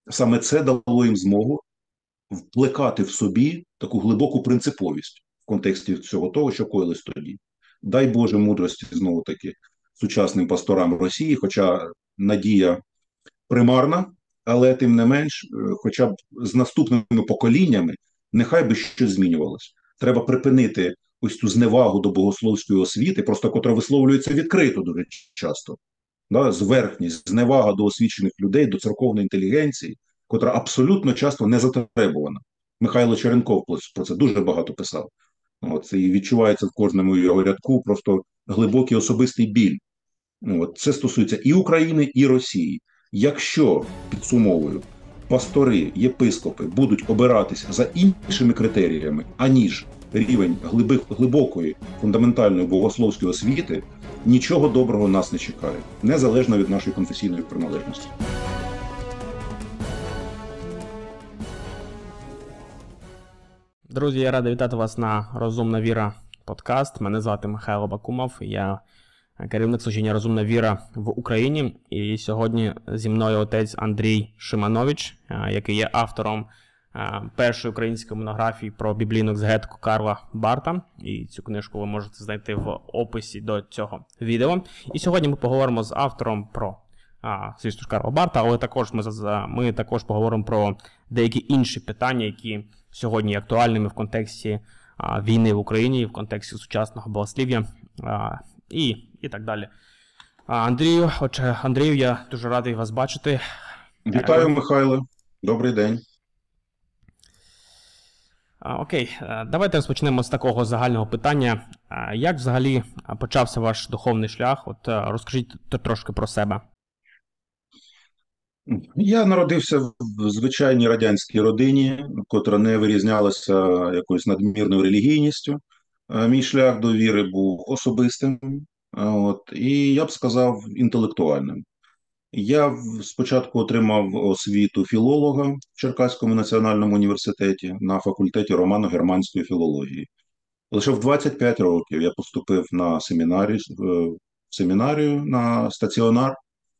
Саме це дало їм змогу вплекати в собі таку глибоку принциповість в контексті всього того, що коїлось тоді. Дай Боже мудрості знову таки сучасним пасторам Росії, хоча надія примарна, але тим не менш, хоча б з наступними поколіннями, нехай би щось змінювалося. Треба припинити ось цю зневагу до богословської освіти, просто котра висловлюється відкрито дуже часто. Да, зверхність, зневага до освічених людей, до церковної інтелігенції, котра абсолютно часто не затребувана. Михайло Черенков про це дуже багато писав. От, і відчувається в кожному його рядку просто глибокий особистий біль. От, це стосується і України, і Росії. Якщо, підсумовую, пастори, єпископи будуть обиратися за іншими критеріями, аніж рівень глибокої фундаментальної богословської освіти, нічого доброго нас не чекає, незалежно від нашої конфесійної приналежності. Друзі, я радий вітати вас на «Розумна віра» подкаст. Мене звати Михайло Бакумов, я керівник служіння «Розумна віра» в Україні. І сьогодні зі мною отець Андрій Шиманович, який є автором першої української монографії про біблійну екзегетику Карла Барта. І цю книжку ви можете знайти в описі до цього відео. І сьогодні ми поговоримо з автором про, звісно ж, Карла Барта, але також ми також поговоримо про деякі інші питання, які сьогодні є актуальними в контексті війни в Україні, в контексті сучасного богослів'я і так далі. Андрію, я дуже радий вас бачити. Вітаю, Михайло. Добрий день. Окей, давайте розпочнемо з такого загального питання. Як взагалі почався ваш духовний шлях? Розкажіть трошки про себе. Я народився в звичайній радянській родині, котра не вирізнялася якоюсь надмірною релігійністю. Мій шлях до віри був особистим, і я б сказав, інтелектуальним. Я спочатку отримав освіту філолога в Черкаському національному університеті на факультеті романо-германської філології. Лише в 25 років я поступив на семінарію на стаціонар.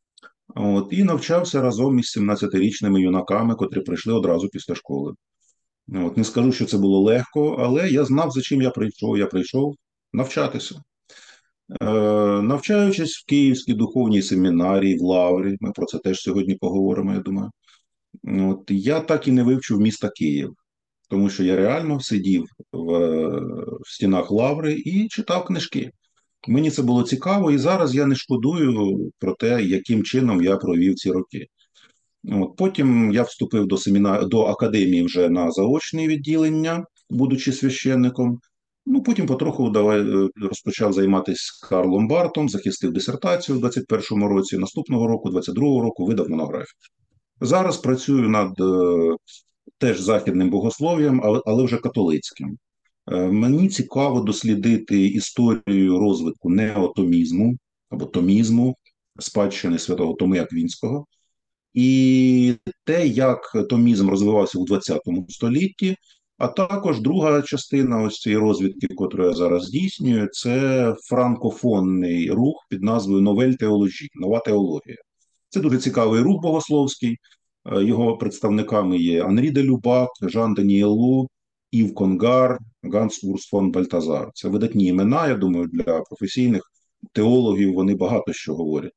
І навчався разом із 17-річними юнаками, котрі прийшли одразу після школи. Не скажу, що це було легко, але я знав, за чим я прийшов. Я прийшов навчатися. Навчаючись в Київській духовній семінарії, в Лаврі, ми про це теж сьогодні поговоримо, я думаю. Я так і не вивчив міста Київ, тому що я реально сидів в стінах Лаври і читав книжки. Мені це було цікаво, і зараз я не шкодую про те, яким чином я провів ці роки. Потім я вступив до академії вже на заочне відділення, будучи священником. Потім потроху розпочав займатися Карлом Бартом, захистив дисертацію в 21-му році, наступного року, 22-го року, видав монографію. Зараз працюю над теж західним богослов'ям, але вже католицьким. Мені цікаво дослідити історію розвитку неотомізму або томізму, спадщини святого Томи Аквінського, і те, як томізм розвивався у ХХ столітті, а також друга частина ось цієї розвідки, яку я зараз здійснюю, це франкофонний рух під назвою Новель Теологі, нова теологія. Це дуже цікавий рух богословський. Його представниками є Анрі де Любак, Жан Даніелу, Ів Конгар, Ганс Урс фон Бальтазар. Це видатні імена, я думаю, для професійних теологів вони багато що говорять.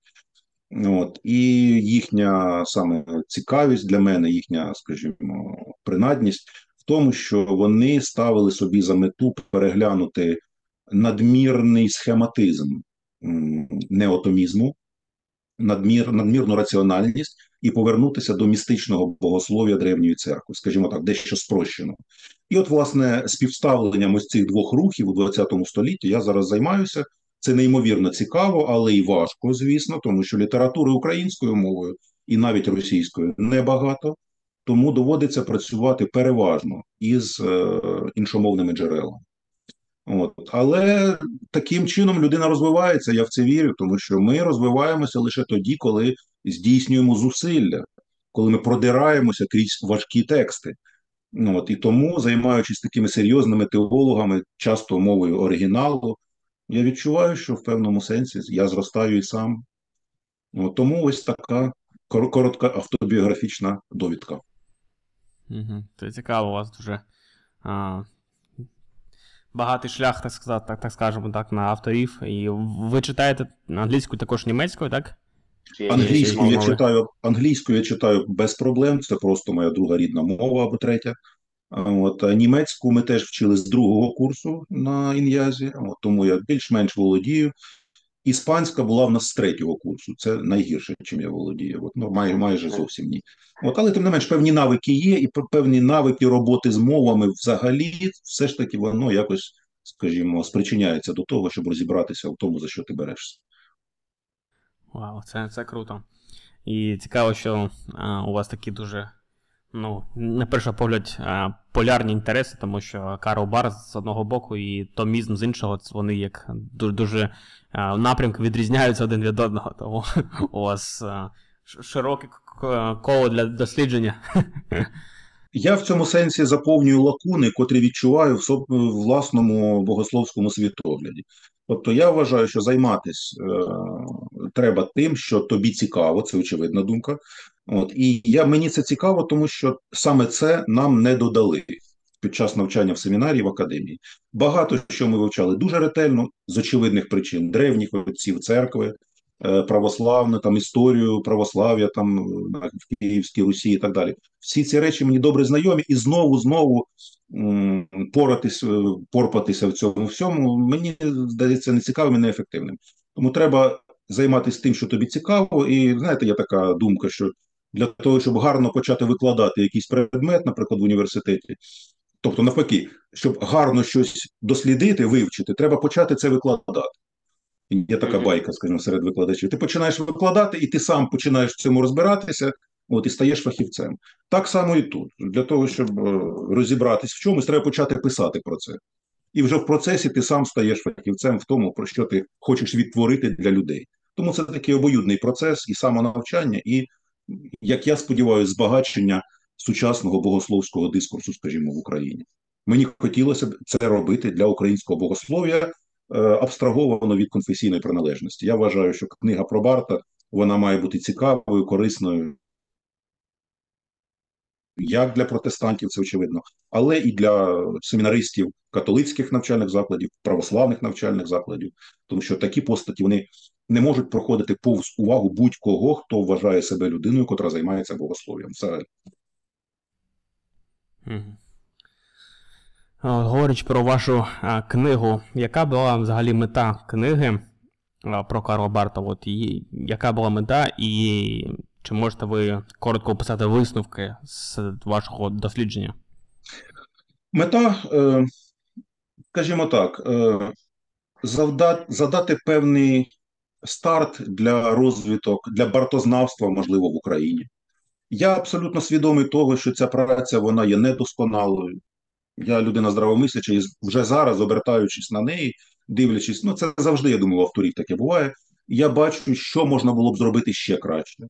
І їхня саме цікавість для мене, їхня, скажімо, принадність в тому, що вони ставили собі за мету переглянути надмірний схематизм неотомізму, надмірну раціональність і повернутися до містичного богослов'я Древньої церкви, скажімо так, дещо спрощено. І власне, співставленням ось цих двох рухів у ХХ столітті я зараз займаюся. Це неймовірно цікаво, але і важко, звісно, тому що літератури українською мовою і навіть російською небагато, тому доводиться працювати переважно із іншомовними джерелами. Але таким чином людина розвивається, я в це вірю, тому що ми розвиваємося лише тоді, коли здійснюємо зусилля, коли ми продираємося крізь важкі тексти. І тому, займаючись такими серйозними теологами, часто мовою оригіналу, я відчуваю, що в певному сенсі я зростаю і сам. Тому ось така коротка автобіографічна довідка. Угу. Це цікаво, у вас дуже а, багатий шлях, так сказати, так скажемо так, на авторів. І ви читаєте англійською, також німецькою, так? Чи є ще якісь мови? Англійською я читаю без проблем, це просто моя друга рідна мова або третя. А німецьку ми теж вчили з другого курсу на ін'язі, тому я більш-менш володію. Іспанська була в нас з третього курсу. Це найгірше, чим я володію. Майже зовсім ні. Але тим не менш, певні навики є, і певні навики роботи з мовами взагалі, все ж таки воно якось, скажімо, спричиняється до того, щоб розібратися в тому, за що ти берешся. Вау, це круто. І цікаво, що у вас такі дуже, на перший погляд, полярні інтереси, тому що Карл Барth з одного боку і Томізм з іншого, вони як дуже напрямки відрізняються один від одного, тому у вас широке коло для дослідження. Я в цьому сенсі заповнюю лакуни, котрі відчуваю в власному богословському світогляді. Тобто я вважаю, що займатися треба тим, що тобі цікаво, це очевидна думка. Мені це цікаво, тому що саме це нам не додали під час навчання в семінарії, в академії. Багато що ми вивчали дуже ретельно, з очевидних причин, древніх отців церкви, православну, там історію православ'я там в Київській Русі і так далі. Всі ці речі мені добре знайомі, і знову порпатися в цьому всьому, мені здається, не цікавим і неефективним. Тому треба займатися тим, що тобі цікаво, і знаєте, є така думка, що для того, щоб гарно почати викладати якийсь предмет, наприклад, в університеті, тобто навпаки, щоб гарно щось дослідити, вивчити, треба почати це викладати. Є така байка, скажімо, серед викладачів. Ти починаєш викладати, і ти сам починаєш в цьому розбиратися, і стаєш фахівцем. Так само і тут. Для того, щоб розібратись в чомусь, треба почати писати про це. І вже в процесі ти сам стаєш фахівцем в тому, про що ти хочеш відтворити для людей. Тому це такий обоюдний процес і самонавчання, і, як я сподіваюся, збагачення сучасного богословського дискурсу, скажімо, в Україні. Мені хотілося б це робити для українського богослов'я, абстраговано від конфесійної приналежності. Я вважаю, що книга про Барта, вона має бути цікавою, корисною, як для протестантів, це очевидно, але і для семінаристів католицьких навчальних закладів, православних навчальних закладів, тому що такі постаті, вони не можуть проходити повз увагу будь-кого, хто вважає себе людиною, котра займається богослов'ям. Взагалі. Говорячи про вашу книгу, яка була взагалі мета книги про Карла Барта? Яка була мета, і чи можете ви коротко описати висновки з вашого дослідження? Мета, скажімо так, задати певний старт для розвиток, для бартознавства, можливо, в Україні. Я абсолютно свідомий того, що ця праця, вона є недосконалою. Я людина здравомисляча, і вже зараз, обертаючись на неї, дивлячись, це завжди, я думаю, у авторів таке буває, я бачу, що можна було б зробити ще краще.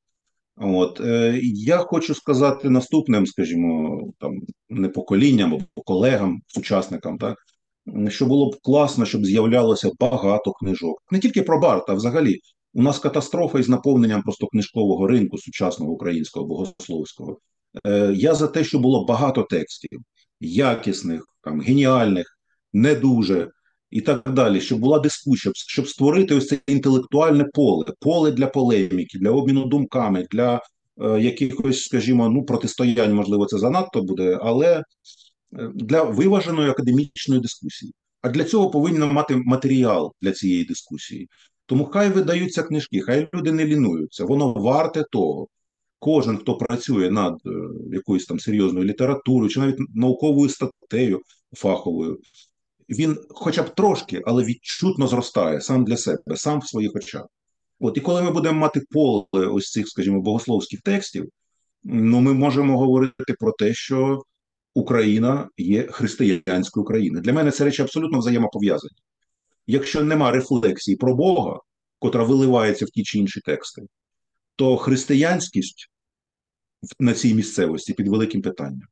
Я хочу сказати наступним, скажімо, там, не поколінням, а колегам, сучасникам, так, що було б класно, щоб з'являлося багато книжок. Не тільки про Барта, а взагалі. У нас катастрофа із наповненням просто книжкового ринку сучасного українського богословського. Я за те, що було багато текстів, якісних, там, геніальних, не дуже, і так далі, щоб була дискусія, щоб створити ось це інтелектуальне поле для полеміки, для обміну думками, для якихось, скажімо, протистоянь, можливо, це занадто буде, але для виваженої академічної дискусії. А для цього повинно мати матеріал для цієї дискусії. Тому хай видаються книжки, хай люди не лінуються, воно варте того. Кожен, хто працює над якоюсь там серйозною літературою чи навіть науковою статтею фаховою, він хоча б трошки, але відчутно зростає сам для себе, сам в своїх очах. І коли ми будемо мати поле ось цих, скажімо, богословських текстів, ми можемо говорити про те, що Україна є християнською країною. Для мене це речі абсолютно взаємопов'язані. Якщо нема рефлексії про Бога, котра виливається в ті чи інші тексти, то християнськість на цій місцевості під великим питанням.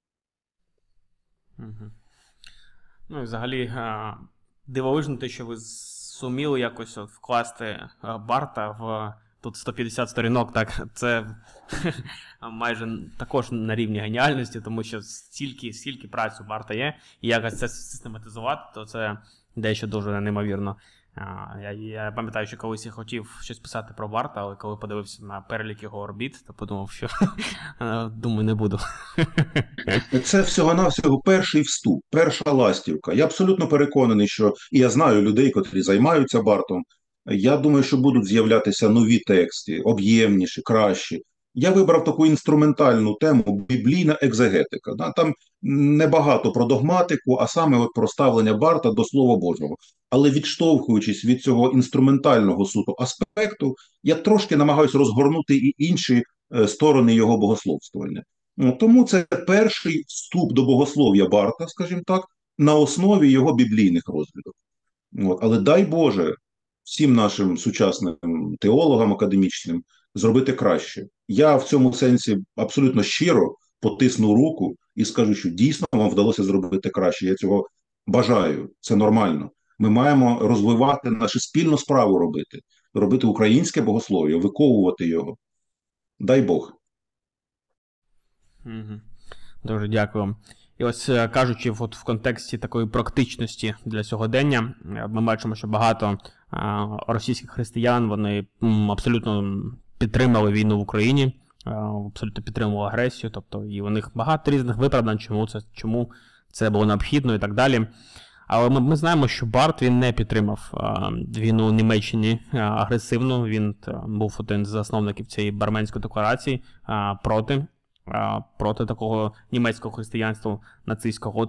І взагалі дивовижно те, що ви зуміли якось вкласти Барта тут 150 сторінок, так, це майже також на рівні геніальності, тому що стільки праць у Барта є, і якось це систематизувати, то це дещо дуже неймовірно. Я пам'ятаю, що колись я хотів щось писати про Барта, але коли подивився на перелік його орбіт, то подумав, що думаю, не буду. Це всього-навсього перший вступ, перша ластівка. Я абсолютно переконаний, що і я знаю людей, котрі займаються Бартом. Я думаю, що будуть з'являтися нові тексти, об'ємніші, кращі. Я вибрав таку інструментальну тему біблійна екзегетика. Да? Там небагато про догматику, а саме от про ставлення Барта до Слова Божого. Але відштовхуючись від цього інструментального суто аспекту, я трошки намагаюся розгорнути і інші сторони його богословствування. Тому це перший вступ до богослов'я Барта, скажімо так, на основі його біблійних розглядів. Але дай Боже всім нашим сучасним теологам академічним зробити краще. Я в цьому сенсі абсолютно щиро потисну руку і скажу, що дійсно вам вдалося зробити краще. Я цього бажаю, це нормально. Ми маємо розвивати нашу спільну справу робити українське богослов'я, виковувати його. Дай Бог. Дуже дякую. І ось кажучи, от в контексті такої практичності для сьогодення, ми бачимо, що багато російських християн, вони абсолютно підтримали війну в Україні, абсолютно підтримували агресію, тобто і у них багато різних виправдань, чому це було необхідно і так далі. Але ми знаємо, що Барт, він не підтримав війну в Німеччині агресивно, він був один з засновників цієї Барменської декларації проти такого німецького християнства нацистського.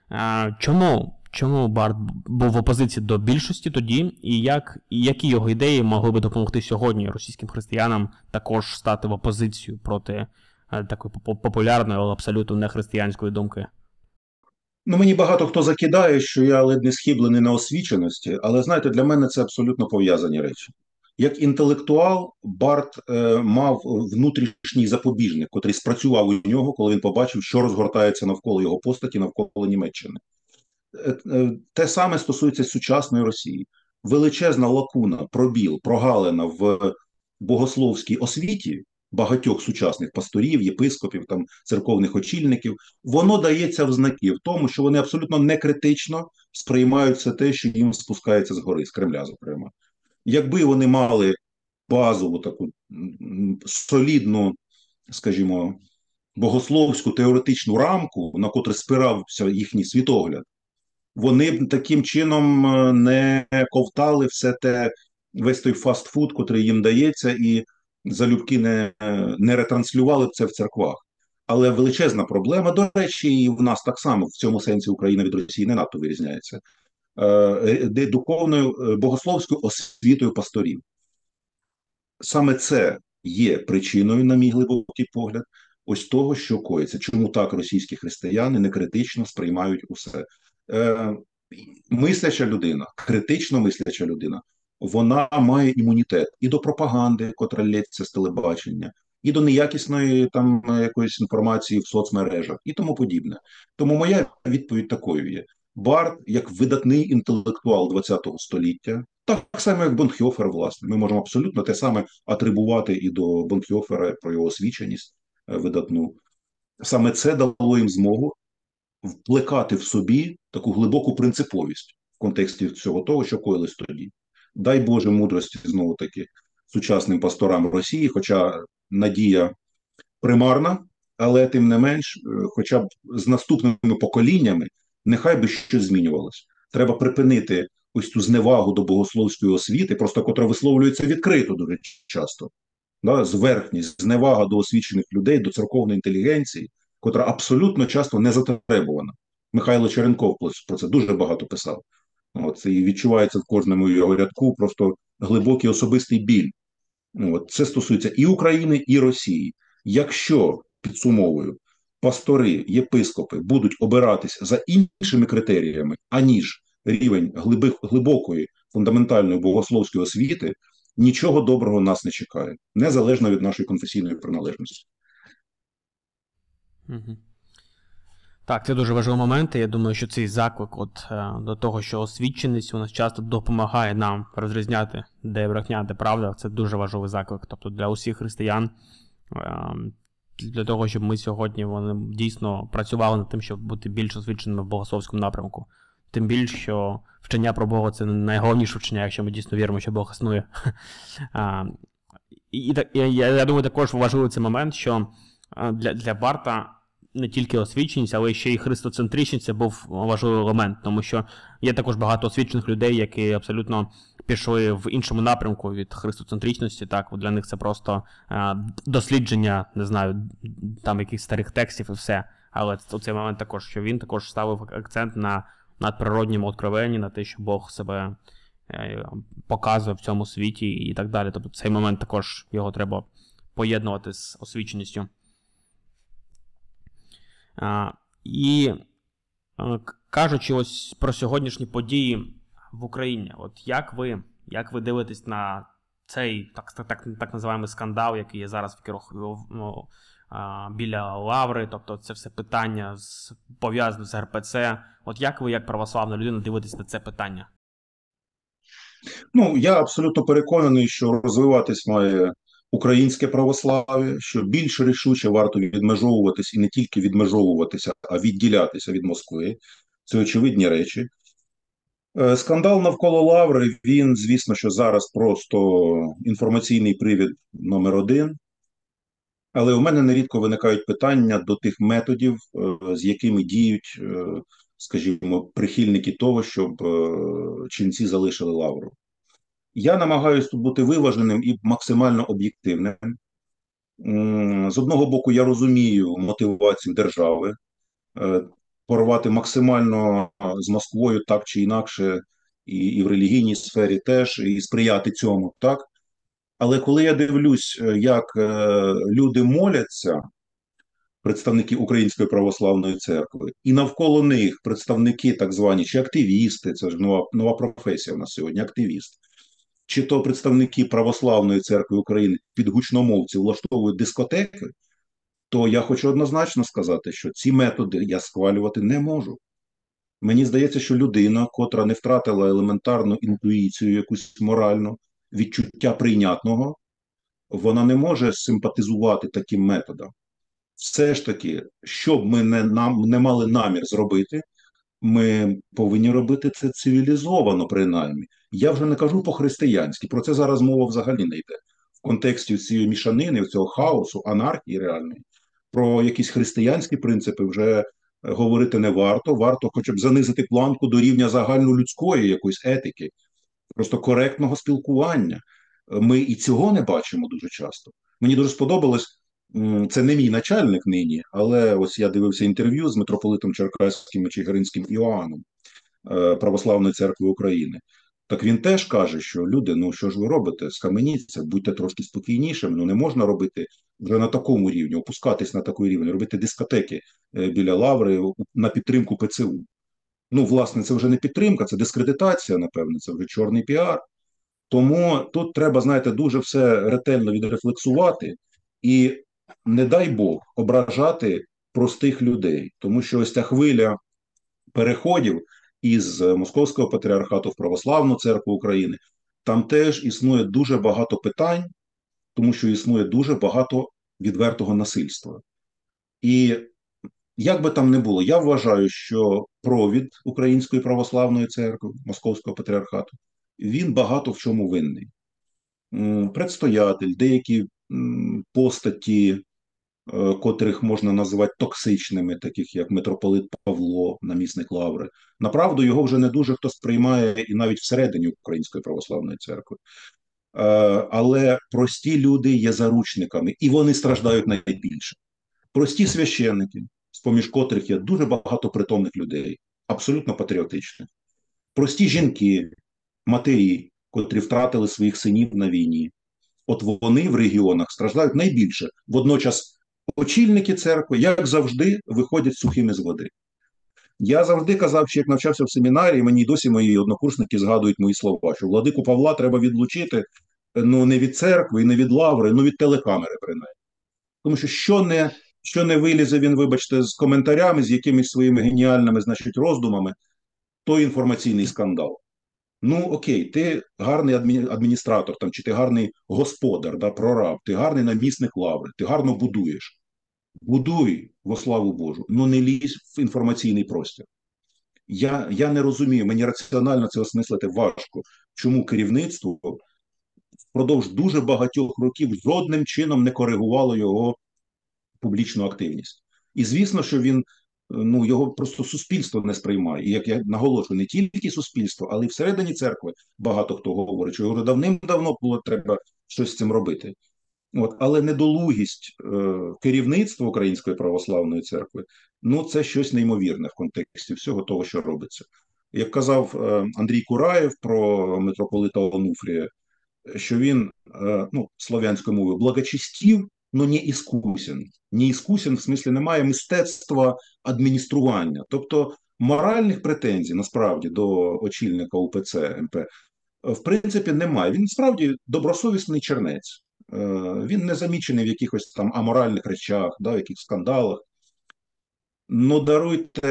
Чому Барт був в опозиції до більшості тоді, і які його ідеї могли би допомогти сьогодні російським християнам також стати в опозицію проти такої популярної, але абсолютно нехристиянської думки? Мені багато хто закидає, що я ледь не схиблений на освіченості, але знаєте, для мене це абсолютно пов'язані речі. Як інтелектуал, Барт мав внутрішній запобіжник, котрий спрацював у нього, коли він побачив, що розгортається навколо його постаті, навколо Німеччини. Те саме стосується сучасної Росії. Величезна лакуна, пробіл, прогалина в богословській освіті багатьох сучасних пасторів, єпископів, там, церковних очільників, воно дається в знаки в тому, що вони абсолютно некритично сприймають все те, що їм спускається згори, з Кремля, зокрема. Якби вони мали базову таку солідну, скажімо, богословську теоретичну рамку, на котру спирався їхній світогляд, вони б таким чином не ковтали весь той фастфуд, котрий їм дається, і залюбки не ретранслювали б це в церквах. Але величезна проблема, до речі, і в нас так само, в цьому сенсі Україна від Росії не надто вирізняється, духовною богословською освітою пасторів. Саме це є причиною, на мій глибокий погляд, ось того, що коїться. Чому так російські християни некритично сприймають усе? Мисляча людина, критично мисляча людина, вона має імунітет і до пропаганди, котра лється з телебачення, і до неякісної там якоїсь інформації в соцмережах і тому подібне. Тому моя відповідь такою є. Барт, як видатний інтелектуал ХХ століття, так само, як Бонхьофер, власне. Ми можемо абсолютно те саме атрибувати і до Бонхьофера про його освіченість видатну. Саме це дало їм змогу вплекати в собі таку глибоку принциповість в контексті всього того, що коїлось тоді. Дай Боже мудрості, знову-таки, сучасним пасторам Росії, хоча надія примарна, але тим не менш, хоча б з наступними поколіннями, нехай би щось змінювалося. Треба припинити ось ту зневагу до богословської освіти, просто котра висловлюється відкрито дуже часто. Да, зверхність, зневага до освічених людей, до церковної інтелігенції, котра абсолютно часто не затребувана. Михайло Черенков про це дуже багато писав. І відчувається в кожному його рядку просто глибокий особистий біль. Це стосується і України, і Росії. Якщо, підсумовую, пастори, єпископи будуть обиратись за іншими критеріями, аніж рівень глибокої, фундаментальної богословської освіти, нічого доброго нас не чекає, незалежно від нашої конфесійної приналежності. Так, це дуже важливий момент, і я думаю, що цей заклик до того, що освіченість у нас часто допомагає нам розрізняти, де брехня, де правда. Це дуже важливий заклик. Тобто для усіх християн, е, для того, щоб ми сьогодні вони дійсно працювали над тим, щоб бути більш освіченими в богословському напрямку. Тим більше, що вчення про Бога – це найголовніше вчення, якщо ми дійсно віримо, що Бог існує. Я думаю, також важливий цей момент, що для Барта не тільки освіченість, але ще й христоцентричність – це був важливий елемент, тому що є також багато освічених людей, які абсолютно пішли в іншому напрямку від христоцентричності, так, для них це просто дослідження, не знаю, там якихось старих текстів і все. Але у цей момент також, що він також ставив акцент на надприродньому откровенні, на те, що Бог себе показує в цьому світі і так далі. Тобто цей момент також його треба поєднувати з освіченістю. Кажучи ось про сьогоднішні події в Україні, от як ви дивитесь на цей так називаємий скандал, який є зараз біля Лаври, тобто це все питання пов'язане з РПЦ. От як ви, як православна людина, дивитесь на це питання? Ну, я абсолютно переконаний, що розвиватись має українське православ'я, що більш рішуче варто відмежовуватись і не тільки відмежовуватися, а відділятися від Москви. Це очевидні речі. Скандал навколо Лаври, він, звісно, що зараз просто інформаційний привід номер один. Але у мене нерідко виникають питання до тих методів, з якими діють, скажімо, прихильники того, щоб ченці залишили Лавру. Я намагаюся тут бути виваженим і максимально об'єктивним. З одного боку, я розумію мотивацію держави порвати максимально з Москвою так чи інакше, і в релігійній сфері теж, і сприяти цьому, так? Але коли я дивлюсь, як люди моляться, представники Української православної церкви, і навколо них представники так звані чи активісти, це ж нова професія у нас сьогодні, активіст, чи то представники Православної церкви України під гучномовці влаштовують дискотеки, то я хочу однозначно сказати, що ці методи я схвалювати не можу. Мені здається, що людина, котра не втратила елементарну інтуїцію, якусь моральну, відчуття прийнятного, вона не може симпатизувати таким методам. Все ж таки, що б ми не мали намір зробити, ми повинні робити це цивілізовано, принаймні. Я вже не кажу по-християнськи, про це зараз мова взагалі не йде. В контексті цієї мішанини, цього хаосу, анархії реальної, про якісь християнські принципи вже говорити не варто. Варто хоча б занизити планку до рівня загальнолюдської якоїсь етики, просто коректного спілкування. Ми і цього не бачимо дуже часто. Мені дуже сподобалось, це не мій начальник нині, але ось я дивився інтерв'ю з митрополитом Черкаським і Чигиринським Іоанном Православної церкви України. Так він теж каже, що люди, ну що ж ви робите, схаменіться, будьте трошки спокійнішими, ну не можна робити вже на такому рівні, опускатись на такий рівень, робити дискотеки біля Лаври на підтримку ПЦУ. Ну, власне, це вже не підтримка, це дискредитація, напевне, це вже чорний піар. Тому тут треба, знаєте, дуже все ретельно відрефлексувати і, не дай Бог, ображати простих людей. Тому що ось ця хвиля переходів із Московського патріархату в Православну церкву України, там теж існує дуже багато питань, тому що існує дуже багато відвертого насильства. І як би там не було, я вважаю, що провід Української православної церкви, Московського патріархату, він багато в чому винний. Предстоятель, деякі постаті, котрих можна називати токсичними, таких як митрополит Павло, намісник Лаври. Направду його вже не дуже хто сприймає і навіть всередині Української православної церкви. Але прості люди є заручниками, і вони страждають найбільше. Прості священники, з-поміж котрих є дуже багато притомних людей, абсолютно патріотичних. Прості жінки, матері, котрі втратили своїх синів на війні. От вони в регіонах страждають найбільше. Водночас очільники церкви, як завжди, виходять сухими з води. Я завжди казав, що як навчався в семінарії, мені досі мої однокурсники згадують мої слова, що владику Павла треба відлучити, ну не від церкви і не від Лаври, ну від телекамери принаймні. Тому що не Що не вилізе він, вибачте, з коментарями, з якимись своїми геніальними, значить, роздумами, то інформаційний скандал. Ну, окей, ти гарний адміністратор там, чи ти гарний господар, да, прораб, ти гарний намісник лаври, ти гарно будуєш. Будуй во славу Божу, ну не лізь в інформаційний простір. Я не розумію, мені раціонально це осмислити важко, чому керівництво впродовж дуже багатьох років жодним чином не коригувало його публічну активність. І звісно, що він ну його просто суспільство не сприймає. І як я наголошую, не тільки суспільство, але й всередині церкви багато хто говорить, що його давним-давно було треба щось з цим робити. От, але недолугість керівництва Української православної церкви, ну це щось неймовірне в контексті всього того, що робиться. Як казав Андрій Кураєв про митрополита Онуфрія, що він ну, слов'янською мовою благочестив, но не іскусен. Не іскусен, в смислі немає мистецтва адміністрування. Тобто моральних претензій насправді до очільника УПЦ МП в принципі немає. Він справді добросовісний чернець. Він не замічений в якихось там аморальних речах, да, в якихось скандалах. Ну, даруйте,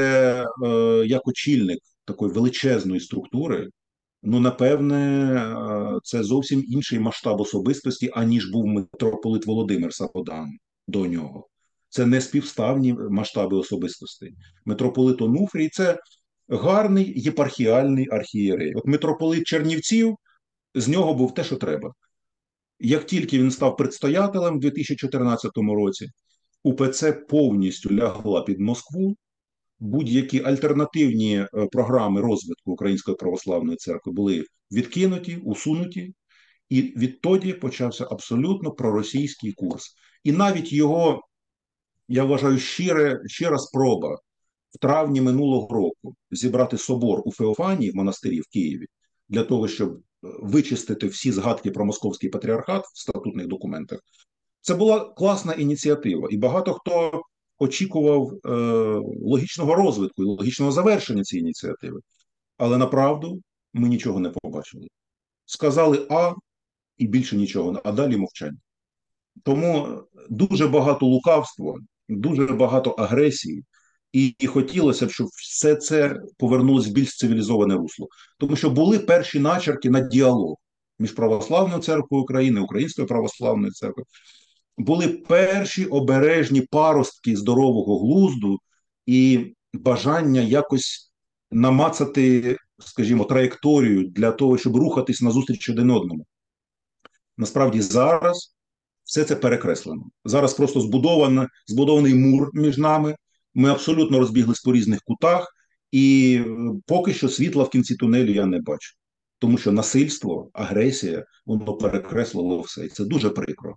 як очільник такої величезної структури, ну, напевне, це зовсім інший масштаб особистості, аніж був митрополит Володимир Саподан до нього. Це не співставні масштаби особистостей. Митрополит Онуфрій – це гарний єпархіальний архієрей. От митрополит Чернівців, з нього був те, що треба. Як тільки він став предстоятелем у 2014 році, УПЦ повністю лягла під Москву, будь-які альтернативні програми розвитку Української православної церкви були відкинуті, усунуті, і відтоді почався абсолютно проросійський курс. І навіть його, я вважаю, щира спроба в травні минулого року зібрати собор у Феофанії в монастирі в Києві для того, щоб вичистити всі згадки про московський патріархат в статутних документах. Це була класна ініціатива, і багато хто очікував логічного розвитку і логічного завершення цієї ініціативи. Але направду ми нічого не побачили. Сказали А і більше нічого, а далі мовчання. Тому дуже багато лукавства, дуже багато агресії, і хотілося б, щоб все це повернулося в більш цивілізоване русло. Тому що були перші начерки на діалог між Православною церквою України, Українською православною церквою. Були перші обережні паростки здорового глузду і бажання якось намацати, скажімо, траєкторію для того, щоб рухатись назустріч один одному. Насправді зараз все це перекреслено. Зараз просто збудований мур між нами, ми абсолютно розбіглись по різних кутах, і поки що світла в кінці тунелю я не бачу. Тому що насильство, агресія, воно перекреслило все. І це дуже прикро.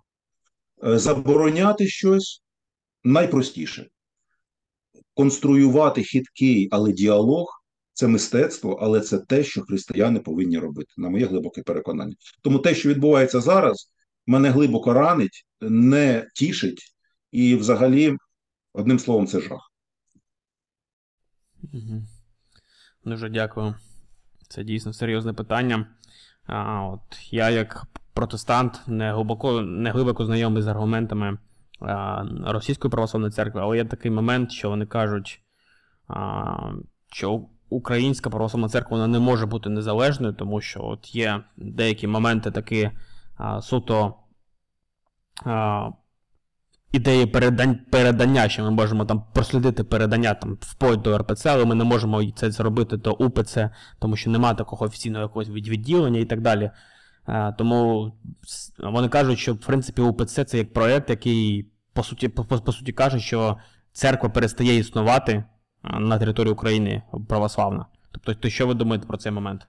Забороняти щось найпростіше. Конструювати хиткий, але діалог – це мистецтво, але це те, що християни повинні робити, на моє глибоке переконання. Тому те, що відбувається зараз, мене глибоко ранить, не тішить, і взагалі, одним словом, це жах. Дуже дякую. Це дійсно серйозне питання. От я, як протестант, не глибоко знайомий з аргументами Російської православної церкви, але є такий момент, що вони кажуть, що Українська православна церква вона не може бути незалежною, тому що от є деякі моменти такі суто ідеї передання, що ми можемо там прослідити передання там вплоть до РПЦ, але ми не можемо це зробити до УПЦ, тому що немає такого офіційного якогось відділення і так далі. Тому вони кажуть, що в принципі УПЦ це як проєкт, який по суті каже, що церква перестає існувати на території України православна. Тобто, то що ви думаєте про цей момент?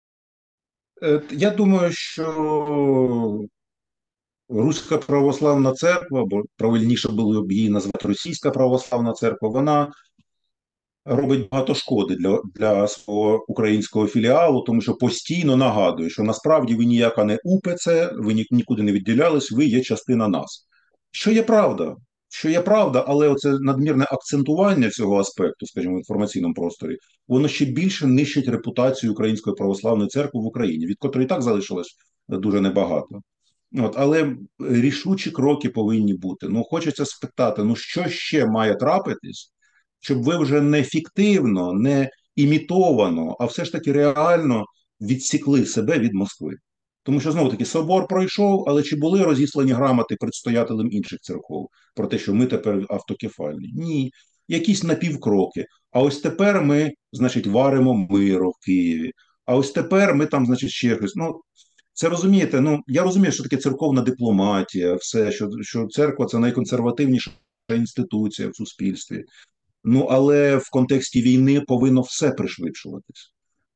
Я думаю, що Руська православна церква, або правильніше було б її назвати Російська православна церква, вона робить багато шкоди для свого українського філіалу, тому що постійно нагадує, що насправді ви ніяка не УПЦ, ви нікуди не відділялись, ви є частина нас. Що є правда, але оце надмірне акцентування цього аспекту, скажімо, в інформаційному просторі, воно ще більше нищить репутацію Української православної церкви в Україні, від котрої і так залишилось дуже небагато. Але рішучі кроки повинні бути. Ну, хочеться спитати, ну що ще має трапитись, щоб ви вже не фіктивно, не імітовано, а все ж таки реально відсікли себе від Москви. Тому що знову таки собор пройшов, але чи були розіслані грамоти предстоятелям інших церков про те, що ми тепер автокефальні? Ні. Якісь напівкроки. А ось тепер ми, значить, варимо миро в Києві. А ось тепер ми там, значить, ще щось. Ну, це розумієте, ну я розумію, що таке церковна дипломатія, все, що церква це найконсервативніша інституція в суспільстві. Ну але в контексті війни повинно все пришвидшуватись.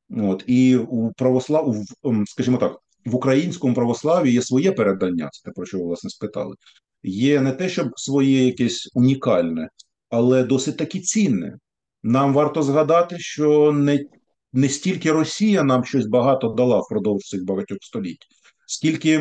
І у скажімо так, в українському православі є своє передання, це те, про що ви власне спитали. Є не те, щоб своє якесь унікальне, але досить таки цінне. Нам варто згадати, що не стільки Росія нам щось багато дала впродовж цих багатьох століть, скільки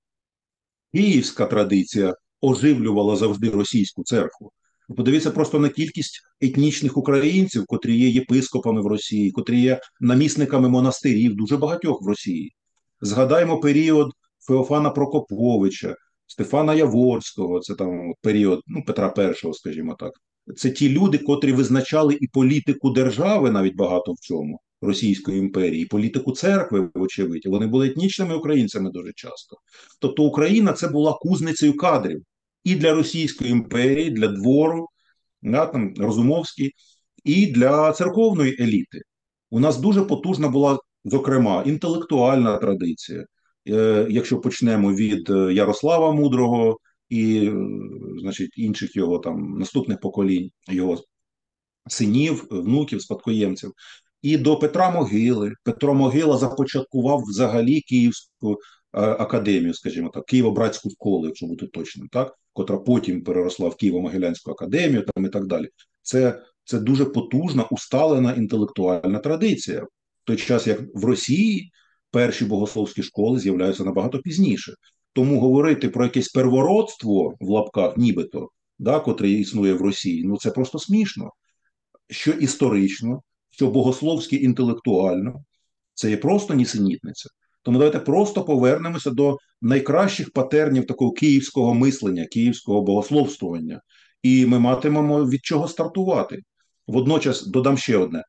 київська традиція оживлювала завжди російську церкву. Подивіться просто на кількість етнічних українців, котрі є єпископами в Росії, котрі є намісниками монастирів, дуже багатьох в Росії. Згадаємо період Феофана Прокоповича, Стефана Яворського, це там період Петра І, скажімо так. Це ті люди, котрі визначали і політику держави, навіть багато в чому, Російської імперії, і політику церкви, вочевидь. Вони були етнічними українцями дуже часто. Тобто Україна це була кузницею кадрів і для Російської імперії, для двору, там, Розумовський, і для церковної еліти. У нас дуже потужна була, зокрема, інтелектуальна традиція. Якщо почнемо від Ярослава Мудрого і, значить, інших його там наступних поколінь, його синів, внуків, спадкоємців, і до Петра Могили. Петро Могила започаткував взагалі Київську академію, скажімо так, Києво-Братську школу, якщо бути точним, так, котра потім переросла в Києво-Могилянську академію там і так далі. Це дуже потужна, усталена інтелектуальна традиція. В той час, як в Росії перші богословські школи з'являються набагато пізніше. Тому говорити про якесь первородство в лапках, нібито, да, котре існує в Росії, ну це просто смішно. Що історично, що богословськи інтелектуально, це є просто нісенітниця. Тому давайте просто повернемося до найкращих патернів такого київського мислення, київського богословствування, і ми матимемо від чого стартувати. Водночас додам ще одне.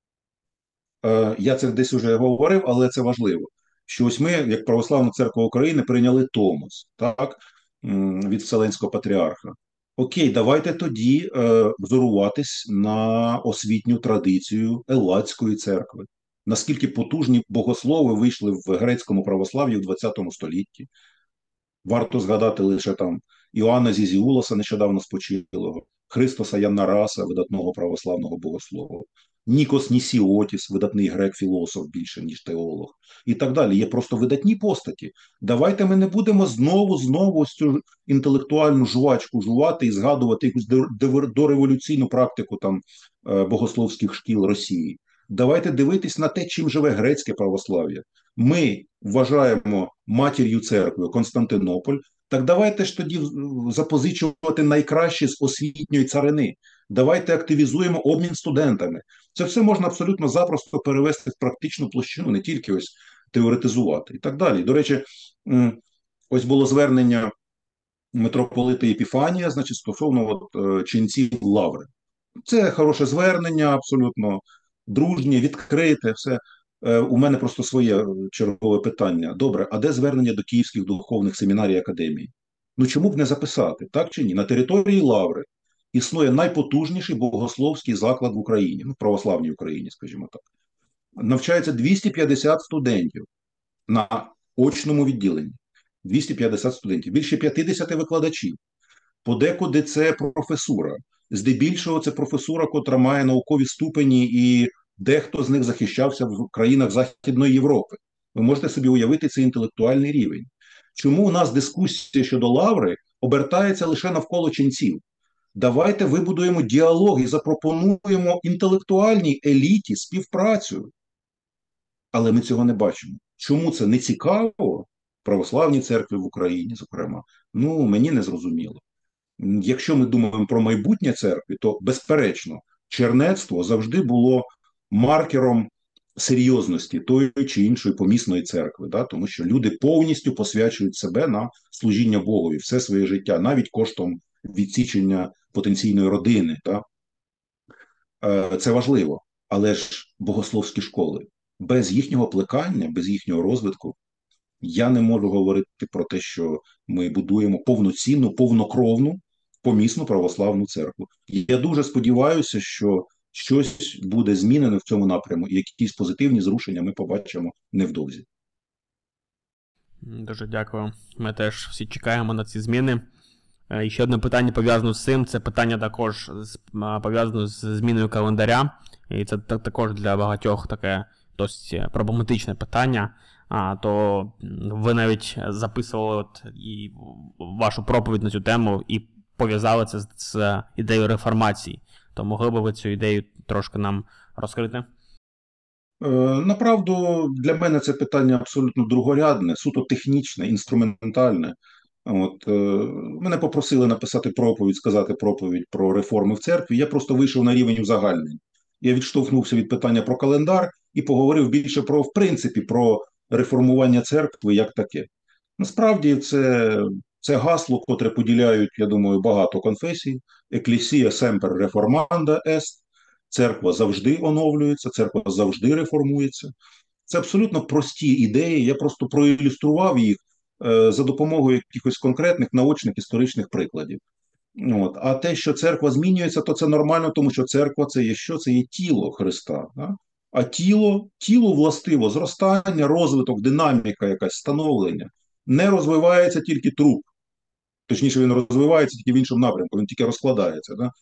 Я це десь уже говорив, але це важливо. Що ось ми, як Православна Церква України, прийняли Томос, так, від Вселенського патріарха. Окей, давайте тоді взоруватись на освітню традицію Елладської церкви. Наскільки потужні богослови вийшли в грецькому православ'ї в ХХ столітті. Варто згадати лише там Іоанна Зізіулоса, нещодавно спочилого, Христоса Яннараса, видатного православного богослова, Нікос Нісіотіс, видатний грек-філософ більше, ніж теолог, і так далі. Є просто видатні постаті. Давайте ми не будемо знову цю інтелектуальну жувачку жувати і згадувати якусь дореволюційну практику там богословських шкіл Росії. Давайте дивитись на те, чим живе грецьке православ'я. Ми вважаємо матір'ю церкви Константинополь, так давайте ж тоді запозичувати найкраще з освітньої царини. Давайте активізуємо обмін студентами. Це все можна абсолютно запросто перевести в практичну площину, не тільки ось теоретизувати і так далі. До речі, ось було звернення митрополита Епіфанія, значить, стосовно ченців лаври. Це хороше звернення, абсолютно дружнє, відкрите, все. У мене просто своє чергове питання. Добре, а де звернення до київських духовних семінарій академій? Ну чому б не записати, так чи ні? На території Лаври існує найпотужніший богословський заклад в Україні, в православній Україні, скажімо так. Навчається 250 студентів на очному відділенні. 250 студентів, більше 50 викладачів. Подекуди це професура. Здебільшого це професура, котра має наукові ступені, і дехто з них захищався в країнах Західної Європи. Ви можете собі уявити цей інтелектуальний рівень. Чому у нас дискусія щодо лаври обертається лише навколо ченців? Давайте вибудуємо діалог і запропонуємо інтелектуальній еліті співпрацю. Але ми цього не бачимо. Чому це не цікаво православній церкві в Україні, зокрема? Ну, мені не зрозуміло. Якщо ми думаємо про майбутнє церкви, то, безперечно, чернецтво завжди було маркером серйозності тої чи іншої помісної церкви, да? Тому що люди повністю посвячують себе на служіння Богові все своє життя, навіть коштом відсічення потенційної родини. Да? Це важливо, але ж богословські школи без їхнього плекання, без їхнього розвитку, я не можу говорити про те, що ми будуємо повноцінну, повнокровну, помісну православну церкву. Я дуже сподіваюся, що щось буде змінено в цьому напряму, і якісь позитивні зрушення ми побачимо невдовзі. Дуже дякую. Ми теж всі чекаємо на ці зміни. І ще одне питання пов'язане з цим. Це питання також пов'язане з зміною календаря. І це також для багатьох таке досить проблематичне питання. То ви навіть записували і вашу проповідь на цю тему і пов'язали це з ідеєю реформації. То могли б ви цю ідею трошки нам розкрити? Направду, для мене це питання абсолютно другорядне, суто технічне, інструментальне. Мене попросили написати проповідь, сказати проповідь про реформи в церкві. Я просто вийшов на рівень узагальнень. Я відштовхнувся від питання про календар і поговорив більше про, в принципі, про реформування церкви як таке. Насправді, це гасло, котре поділяють, я думаю, багато конфесій. Ecclesia semper reformanda est. Церква завжди оновлюється, церква завжди реформується. Це абсолютно прості ідеї. Я просто проілюстрував їх за допомогою якихось конкретних наочних історичних прикладів. А те, що церква змінюється, то це нормально, тому що церква це є що? Це є тіло Христа. Да? А тілу властиво зростання, розвиток, динаміка, якась становлення. Не розвивається тільки труп. Точніше, він розвивається тільки в іншому напрямку, він тільки розкладається. Да?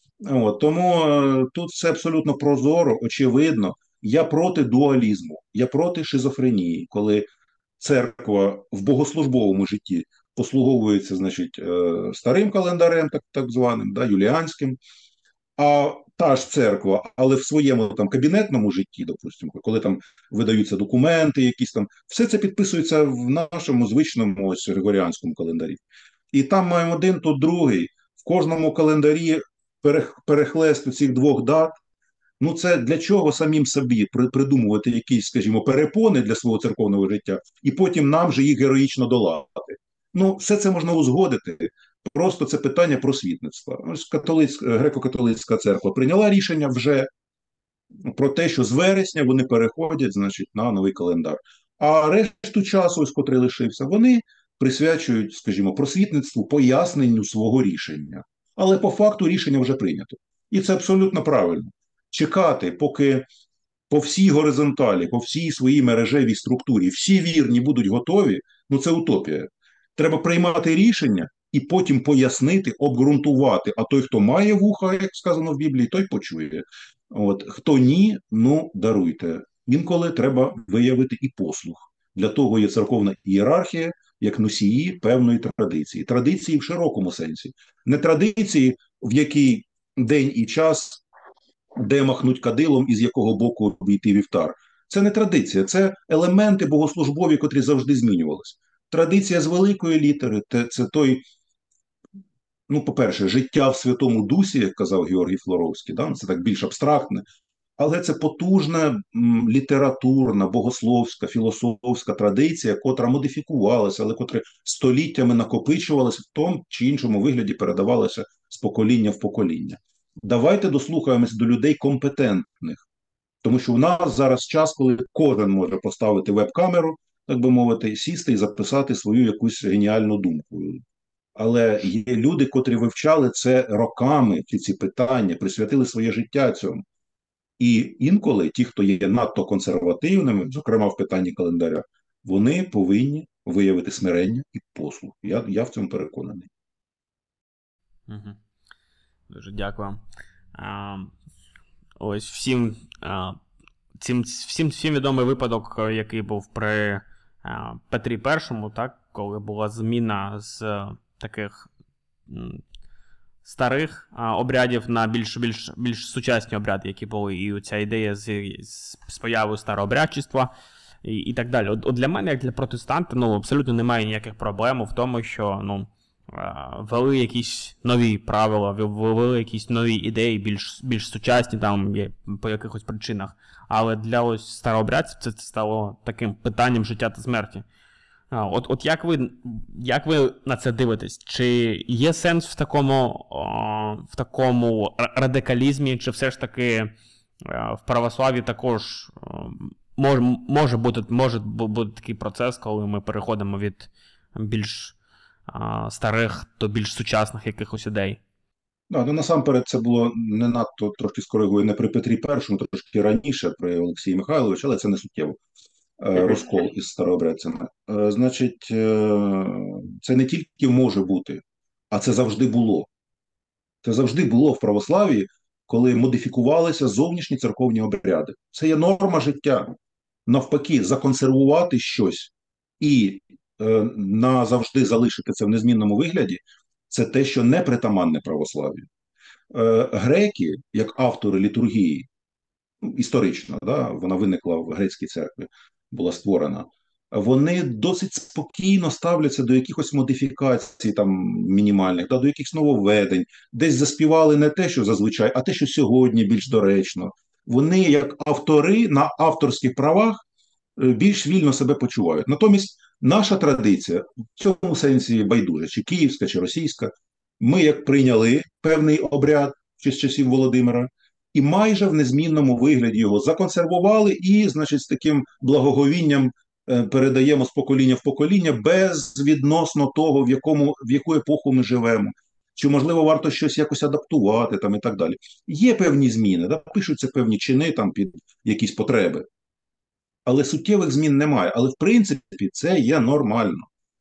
Тому тут все абсолютно прозоро, очевидно. Я проти дуалізму, я проти шизофренії, коли церква в богослужбовому житті послуговується, значить, старим календарем, так званим, да, юліанським, а та ж церква, але в своєму там кабінетному житті, допустимо, коли там видаються документи, якісь там, все це підписується в нашому звичному ось григоріанському календарі. І там маємо один, тут другий. В кожному календарі перехлест цих двох дат. Ну, це для чого самим собі придумувати якісь, скажімо, перепони для свого церковного життя, і потім нам же їх героїчно долати. Ну, все це можна узгодити. Просто це питання просвітництва. Ось греко-католицька церква прийняла рішення вже про те, що з вересня вони переходять, значить, на новий календар. А решту часу, ось котрий лишився, вони присвячують, скажімо, просвітництву, поясненню свого рішення. Але по факту рішення вже прийнято. І це абсолютно правильно. Чекати, поки по всій горизонталі, по всій своїй мережевій структурі всі вірні будуть готові, ну це утопія. Треба приймати рішення і потім пояснити, обґрунтувати. А той, хто має вуха, як сказано в Біблії, той почує. Хто ні, ну даруйте. Інколи треба виявити і послух. Для того є церковна ієрархія, як носії певної традиції. Традиції в широкому сенсі. Не традиції, в якій день і час, де махнуть кадилом і з якого боку обійти вівтар. Це не традиція, це елементи богослужбові, котрі завжди змінювалися. Традиція з великої літери – це той, ну, по-перше, життя в Святому Дусі, як казав Георгій Флоровський, да? Це так більш абстрактне, але це потужна літературна, богословська, філософська традиція, котра модифікувалася, але котра століттями накопичувалася в тому чи іншому вигляді, передавалася з покоління в покоління. Давайте дослухаємось до людей компетентних, тому що у нас зараз час, коли кожен може поставити веб-камеру, так би мовити, сісти і записати свою якусь геніальну думку. Але є люди, котрі вивчали це роками, ці питання, присвятили своє життя цьому. І інколи ті, хто є надто консервативними, зокрема в питанні календаря, вони повинні виявити смирення і послух. Я в цьому переконаний. Угу. Дуже дякую. Ось всім відомий випадок, який був при Петрі І, так, коли була зміна з таких старих обрядів на більш сучасні обряди, які були, і ця ідея з появою старообрядчества і так далі. От для мене, як для протестанта, абсолютно немає ніяких проблем в тому, що ввели якісь нові правила, ввели якісь нові ідеї, більш сучасні там є по якихось причинах. Але для ось старообрядців це стало таким питанням життя та смерті. От як ви на це дивитесь? Чи є сенс в такому радикалізмі, чи все ж таки в православі також може бути такий процес, коли ми переходимо від більш старих до більш сучасних якихось ідей? Ну, насамперед, це було не надто, трошки скоригую, не при Петрі І, трошки раніше, при Олексії Михайловичу, але це не суттєво. Розкол із старообрядцями. Значить, це не тільки може бути, а це завжди було. Це завжди було в православії, коли модифікувалися зовнішні церковні обряди. Це є норма життя. Навпаки, законсервувати щось і назавжди залишити це в незмінному вигляді, це те, що не притаманне православ'ю. Греки, як автори літургії, історично, да, вона виникла в грецькій церкві, була створена, вони досить спокійно ставляться до якихось модифікацій там мінімальних, да, до якихось нововведень, десь заспівали не те, що зазвичай, а те, що сьогодні більш доречно. Вони, як автори на авторських правах, більш вільно себе почувають. Натомість наша традиція в цьому сенсі байдуже, чи київська, чи російська, ми як прийняли певний обряд ще з часів Володимира, і майже в незмінному вигляді його законсервували і, значить, з таким благоговінням передаємо з покоління в покоління безвідносно того, в яку епоху ми живемо. Чи, можливо, варто щось якось адаптувати там і так далі. Є певні зміни, да? Пишуться певні чини там під якісь потреби. Але суттєвих змін немає. Але, в принципі, це є нормально.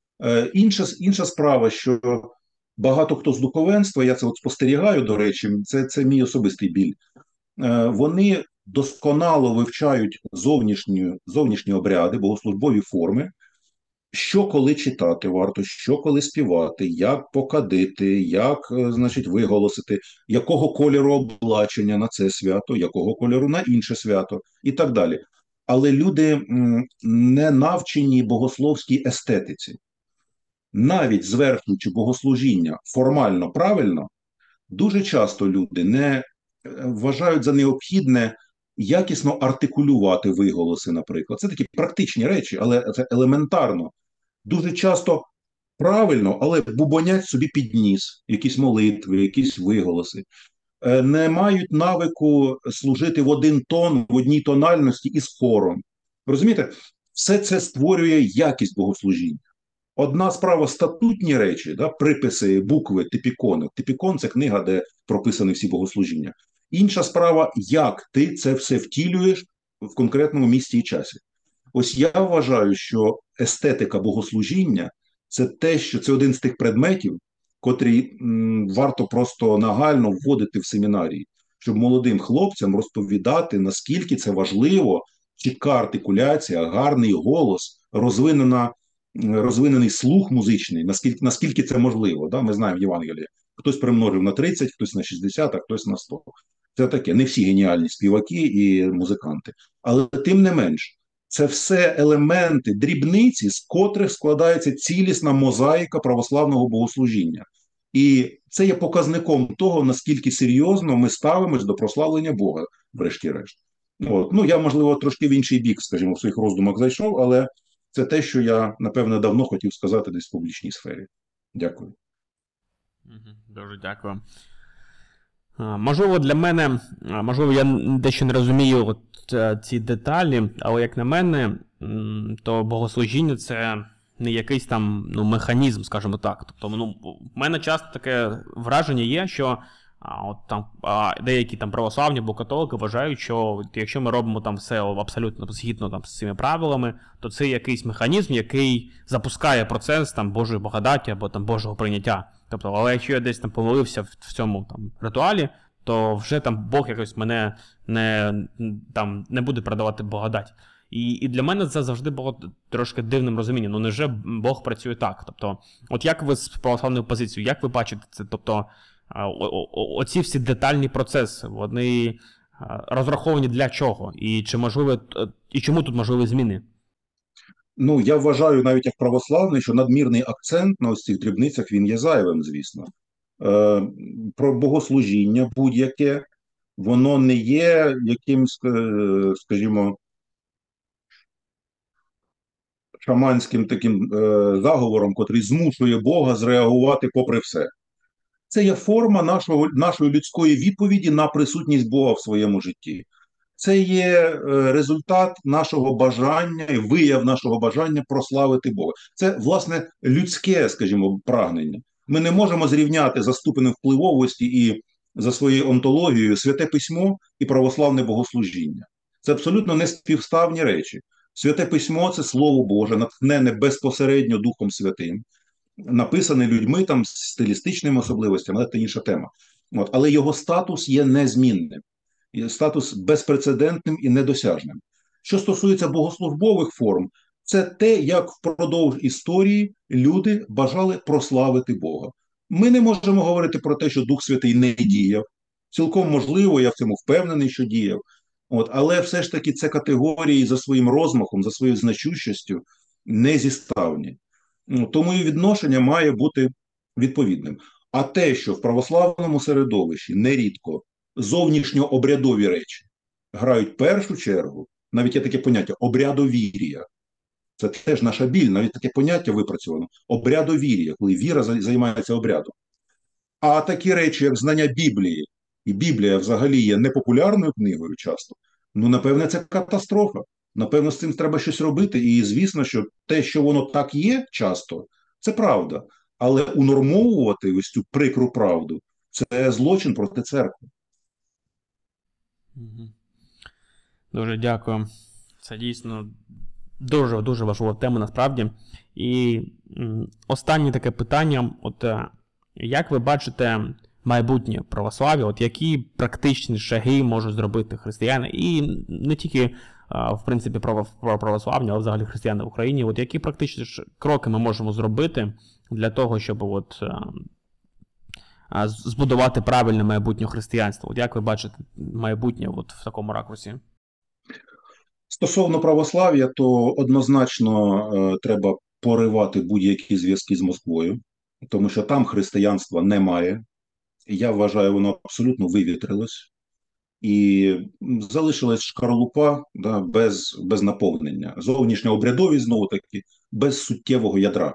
Інша справа, що багато хто з духовенства, я це от спостерігаю, до речі, це мій особистий біль, вони досконало вивчають зовнішні обряди, богослужбові форми, що коли читати варто, що коли співати, як покадити, як, значить, виголосити, якого кольору облачення на це свято, якого кольору на інше свято і так далі. Але люди не навчені богословській естетиці. Навіть звершуючи богослужіння формально правильно, дуже часто люди не вважають за необхідне якісно артикулювати виголоси, наприклад. Це такі практичні речі, але це елементарно. Дуже часто правильно, але бубонять собі під ніс якісь молитви, якісь виголоси. Не мають навику служити в один тон, в одній тональності із хором. Розумієте, все це створює якість богослужіння. Одна справа статутні речі, да, приписи, букви, типікони. Типікон – це книга, де прописані всі богослужіння. Інша справа, як ти це все втілюєш в конкретному місці і часі. Ось я вважаю, що естетика богослужіння – це те, що це один з тих предметів, котрі варто просто нагально вводити в семінарії, щоб молодим хлопцям розповідати, наскільки це важливо, чітка артикуляція, гарний голос, розвинений слух музичний, наскільки це можливо. Да? Ми знаємо в Євангелії, хтось примножив на 30, хтось на 60, а хтось на 100. Це таке, не всі геніальні співаки і музиканти. Але тим не менш, це все елементи, дрібниці, з котрих складається цілісна мозаїка православного богослужіння. І це є показником того, наскільки серйозно ми ставимось до прославлення Бога, врешті-решт. От. Ну, я, можливо, трошки в інший бік, скажімо, в своїх роздумах зайшов, але це те, що я, напевне, давно хотів сказати десь в публічній сфері. Дякую. Дуже дякую. Можливо, для мене, можливо, я дещо не розумію от ці деталі, але як на мене, то богослужіння – це не якийсь там механізм, скажімо так. Тобто, в мене часто таке враження є, що от там деякі там православні або католики вважають, що якщо ми робимо там все абсолютно згідно там з цими правилами, то це якийсь механізм, який запускає процес там Божої благодаті або там Божого прийняття. Тобто, але якщо я десь там помилився в цьому там ритуалі, то вже там Бог якось мене не буде передавати благодать. І для мене це завжди було трошки дивним розумінням. Ну, невже Бог працює так? Тобто, от як ви з православною позицією, як ви бачите це? Тобто, оці всі детальні процеси, вони розраховані для чого? І чи можливо, і чому тут можливі зміни? Ну, я вважаю, навіть як православний, що надмірний акцент на ось цих дрібницях, він є зайвим, звісно. Е, про богослужіння будь-яке, воно не є якимсь, скажімо, шаманським таким заговором, котрий змушує Бога зреагувати попри все. Це є форма нашої людської відповіді на присутність Бога в своєму житті. Це є результат нашого бажання і вияв нашого бажання прославити Бога. Це, власне, людське, скажімо, прагнення. Ми не можемо зрівняти за ступенем впливовості і за своєю онтологією Святе Письмо і православне богослужіння. Це абсолютно неспівставні речі. Святе Письмо це Слово Боже, натхнене безпосередньо Духом Святим, написаний людьми там з стилістичними особливостями, але це інша тема. От, але його статус є незмінним, статус безпрецедентним і недосяжним. Що стосується богослужбових форм, це те, як впродовж історії люди бажали прославити Бога. Ми не можемо говорити про те, що Дух Святий не діяв. Цілком можливо, я в цьому впевнений, що діяв. От, але все ж таки це категорії за своїм розмахом, за своєю значущістю не зіставні. Ну, тому і відношення має бути відповідним. А те, що в православному середовищі нерідко зовнішньообрядові речі грають першу чергу, навіть є таке поняття обрядовір'я. Це теж наша біль, навіть таке поняття випрацьовано обрядовір'я, коли віра займається обрядом. А такі речі, як знання Біблії, і Біблія взагалі є непопулярною книгою часто, ну, напевне, це катастрофа. Напевно, з цим треба щось робити. І звісно, що те, що воно так є часто, це правда. Але унормовувати ось цю прикру правду це злочин проти церкви. Мгм. Дуже дякую. Це дійсно дуже важлива тема насправді. І останнє таке питання: як ви бачите майбутнє православ'я, які практичні шаги можуть зробити християни, і не тільки в принципі про православ'я, але взагалі християни в Україні, які практичні кроки ми можемо зробити для того, щоб збудувати правильне майбутнє християнство? Як ви бачите майбутнє в такому ракурсі? Стосовно православ'я, то однозначно треба поривати будь-які зв'язки з Москвою, тому що там християнства немає. Я вважаю, воно абсолютно вивітрилось. І залишилась шкарлупа, да, без наповнення. Зовнішня обрядовість, знову таки, без суттєвого ядра.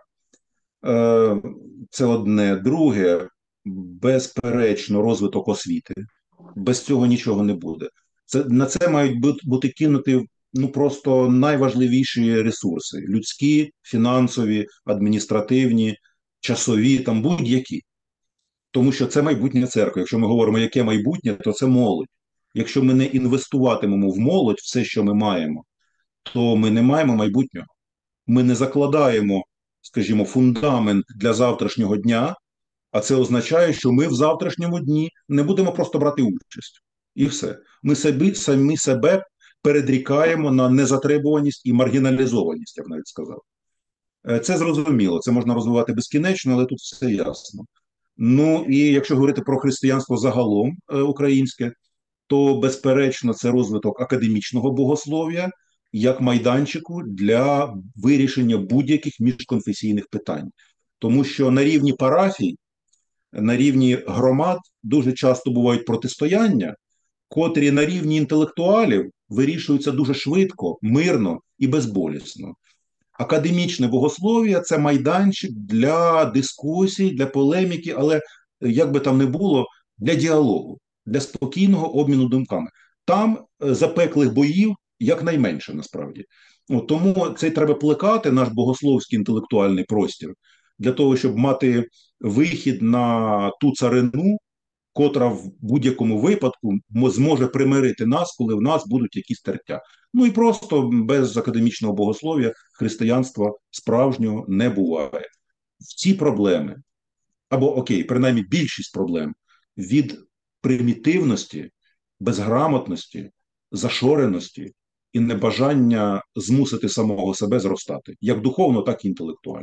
Це одне. Друге, безперечно, розвиток освіти. Без цього нічого не буде. На це мають бути кинуті просто найважливіші ресурси: людські, фінансові, адміністративні, часові, там будь-які. Тому що це майбутнє церкви. Якщо ми говоримо, яке майбутнє, то це молодь. Якщо ми не інвестуватимемо в молодь все, що ми маємо, то ми не маємо майбутнього. Ми не закладаємо, скажімо, фундамент для завтрашнього дня, а це означає, що ми в завтрашньому дні не будемо просто брати участь. І все. Ми самі себе передрікаємо на незатребуваність і маргіналізованість, я б навіть сказав. Це зрозуміло, це можна розвивати безкінечно, але тут все ясно. Ну і якщо говорити про християнство загалом українське, то безперечно це розвиток академічного богослов'я як майданчику для вирішення будь-яких міжконфесійних питань. Тому що на рівні парафій, на рівні громад дуже часто бувають протистояння, котрі на рівні інтелектуалів вирішуються дуже швидко, мирно і безболісно. Академічне богослов'я – це майданчик для дискусій, для полеміки, але, як би там не було, для діалогу, для спокійного обміну думками. Там запеклих боїв якнайменше, насправді. Тому це треба плекати, наш богословський інтелектуальний простір, для того, щоб мати вихід на ту царину, котра в будь-якому випадку зможе примирити нас, коли в нас будуть якісь тертя. Ну і просто без академічного богослов'я християнства справжнього не буває. В ці проблеми, або окей, принаймні більшість проблем від примітивності, безграмотності, зашореності і небажання змусити самого себе зростати, як духовно, так і інтелектуально.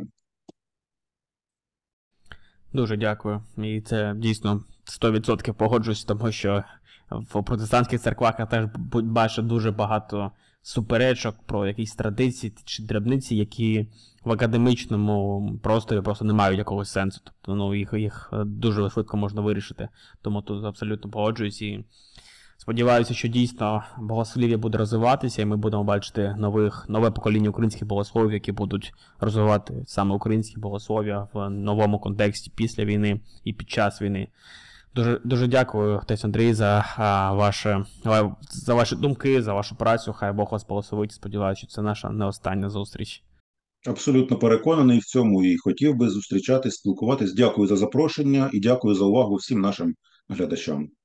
Дуже дякую. І це дійсно 100% погоджуюсь, тому що в протестантських церквах я теж бачу дуже багато суперечок, про якісь традиції чи дрібниці, які в академічному просторі просто не мають якогось сенсу. Тобто, ну, їх дуже швидко можна вирішити. Тому тут абсолютно погоджуюсь і сподіваюся, що дійсно богослів'я буде розвиватися, і ми будемо бачити нове покоління українських богословів, які будуть розвивати саме українське богослов'я в новому контексті після війни і під час війни. Дуже, дуже дякую, отець Андрій, за ваші думки, за вашу працю. Хай Бог вас благословить. Сподіваюся, що це наша не остання зустріч. Абсолютно переконаний в цьому і хотів би зустрічатись, спілкуватись. Дякую за запрошення і дякую за увагу всім нашим глядачам.